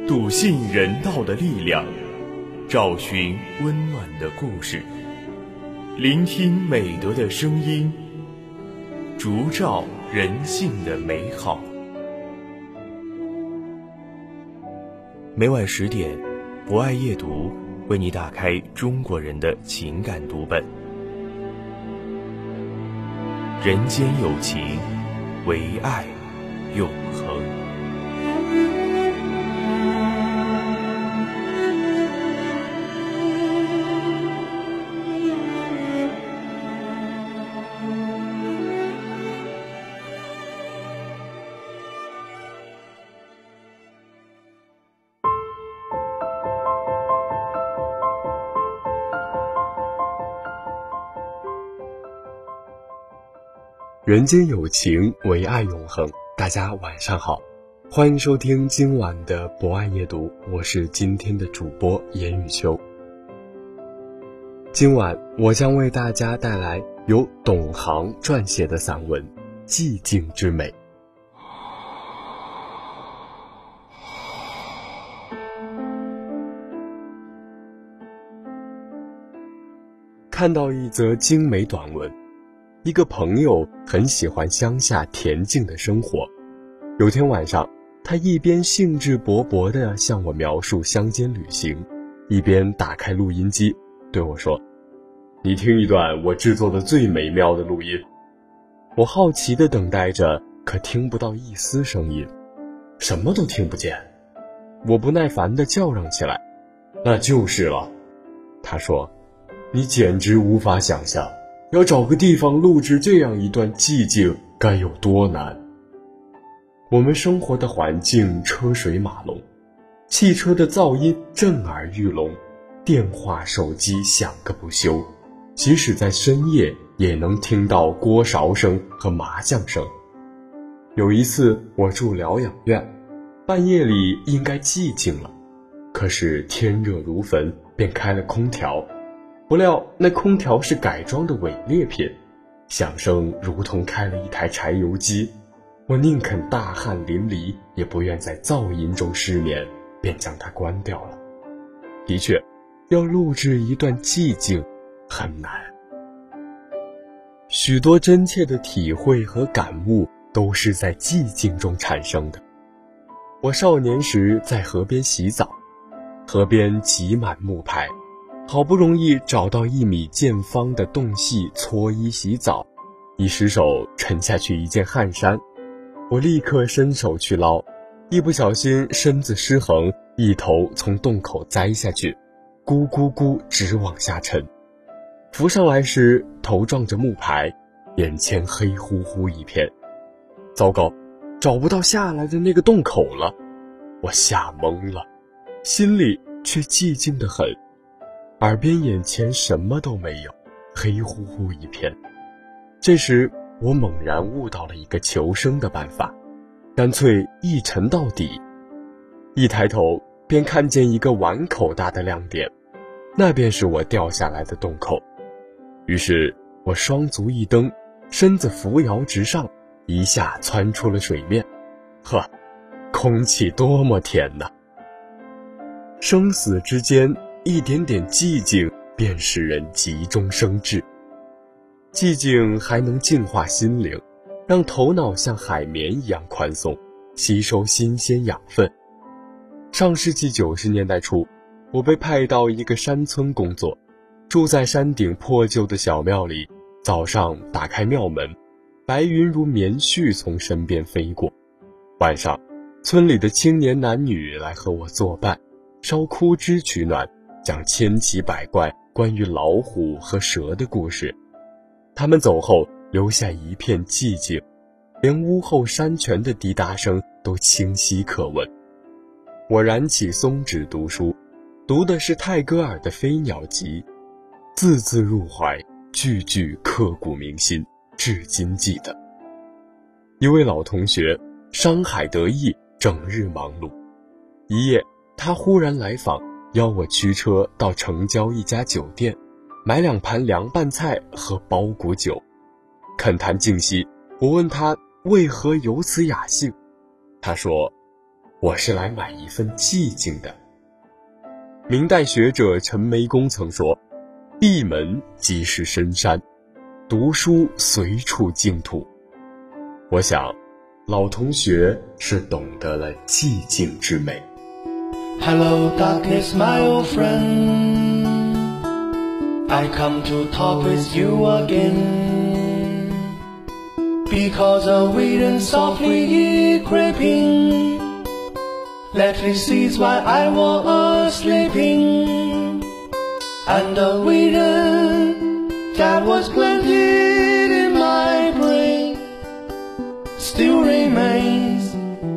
笃信人道的力量，找寻温暖的故事，聆听美德的声音，烛照人性的美好。每晚10点，博爱夜读为你打开中国人的情感读本。人间有情，唯爱永恒。 人间有情，唯爱永恒。大家晚上好，欢迎收听今晚的博爱夜读，我是今天的主播严雨秋。今晚我将为大家带来由董航撰写的散文《寂静之美》。看到一则精美短文，一个朋友很喜欢乡下恬静的生活。有天晚上，他一边兴致勃勃地向我描述乡间旅行，一边打开录音机对我说：“你听一段我制作的最美妙的录音。”我好奇地等待着，可听不到一丝声音，什么都听不见。我不耐烦地叫嚷起来：“那就是了。”他说：“你简直无法想象，要找个地方录制这样一段寂静该有多难。”我们生活的环境车水马龙，汽车的噪音震耳欲聋，电话手机响个不休，即使在深夜也能听到锅勺声和麻将声。有一次我住疗养院，半夜里应该寂静了，可是天热如焚，便开了空调。不料那空调是改装的伪劣品，响声如同开了一台柴油机。我宁肯大汗淋漓，也不愿在噪音中失眠，便将它关掉了。的确，要录制一段寂静很难。许多真切的体会和感悟都是在寂静中产生的。我少年时在河边洗澡，河边挤满木牌，好不容易找到1米见方的洞隙搓衣洗澡，一失手沉下去一件汗衫。我立刻伸手去捞，一不小心身子失衡，一头从洞口栽下去，咕咕咕直往下沉。浮上来时头撞着木牌，眼前黑乎乎一片。糟糕，找不到下来的那个洞口了。我吓懵了，心里却寂静得很，耳边眼前什么都没有，黑乎乎一片。这时我猛然悟到了一个求生的办法，干脆一沉到底。一抬头便看见一个碗口大的亮点，那便是我掉下来的洞口。于是我双足一蹬，身子扶摇直上，一下窜出了水面。呵，空气多么甜呐！生死之间，一点点寂静便使人急中生智。寂静还能净化心灵，让头脑像海绵一样宽松，吸收新鲜养分。上世纪90年代初，我被派到一个山村工作，住在山顶破旧的小庙里。早上打开庙门，白云如棉絮从身边飞过。晚上，村里的青年男女来和我作伴，烧枯枝取暖，讲千奇百怪关于老虎和蛇的故事。他们走后留下一片寂静，连屋后山泉的滴答声都清晰可闻。我燃起松纸读书，读的是泰戈尔的《飞鸟集》，字字入怀，句句刻骨铭心，至今记得。一位老同学商海得意，整日忙碌。一夜他忽然来访，邀我驱车到城郊一家酒店，买2盘凉拌菜和包谷酒。恳谈尽息，我问他为何有此雅兴，他说： 我是来买一份寂静的。明代学者陈眉公曾说，闭门即是深山，读书随处净土。我想老同学是懂得了寂静之美。 Hello darkness my old friend, I come to talk with you again, because a wind softly creeping lately sees while I was sleeping, and the wind that was planted in my brain still remains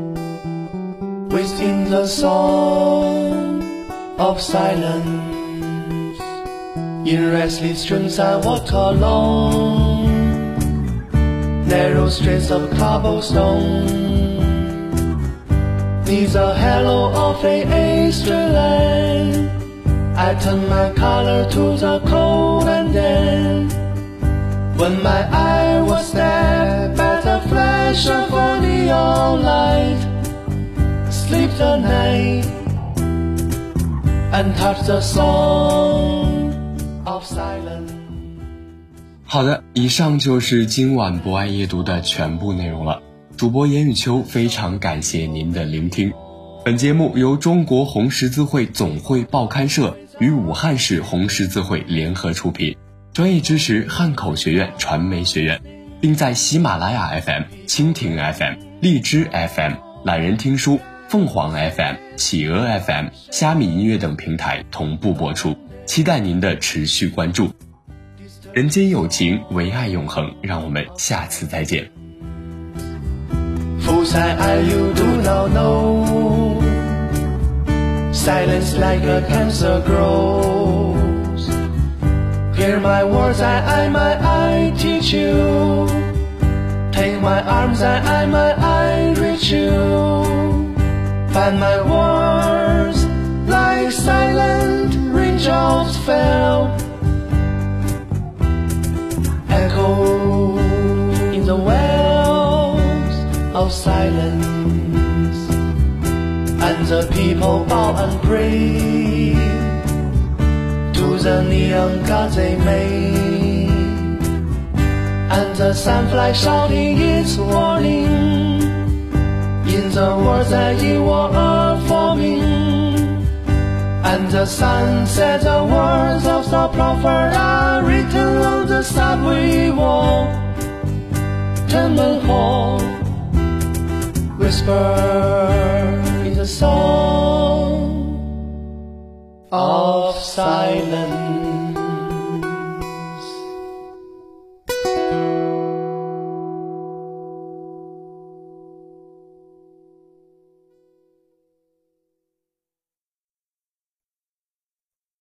within the song of silence. In restless streams I walk along narrow streets of cobblestone, neath the halo of a eastern land. I turn my collar to the cold, and then when my eye was stabbed by the flash of a neon light, sleep the night and touch the song of silence. 好的，以上就是今晚博爱夜读的全部内容了。主播严雨秋非常感谢您的聆听。本节目由中国红十字会总会报刊社与武汉市红十字会联合出品，专业支持汉口学院传媒学院，并在喜马拉雅 FM、蜻蜓 FM、荔枝 FM、懒人听书、凤凰 FM、企鹅 FM、虾米音乐等平台同步播出，期待您的持续关注。人间有情，唯爱永恒，让我们下次再见。 Fools I you do not know, silence like a cancer grows. Hear my words, I teach you. Take my arms, I reach you. Find my words like silent raindrops fell, echo in the wells of silence, and the people bow and pray to the neon gods they made, and the sunfly shouting its warning in the words that you are forming, and the sun said the words of the prophet are written on the subway wall. Tenement hall, whisper in the song of silence.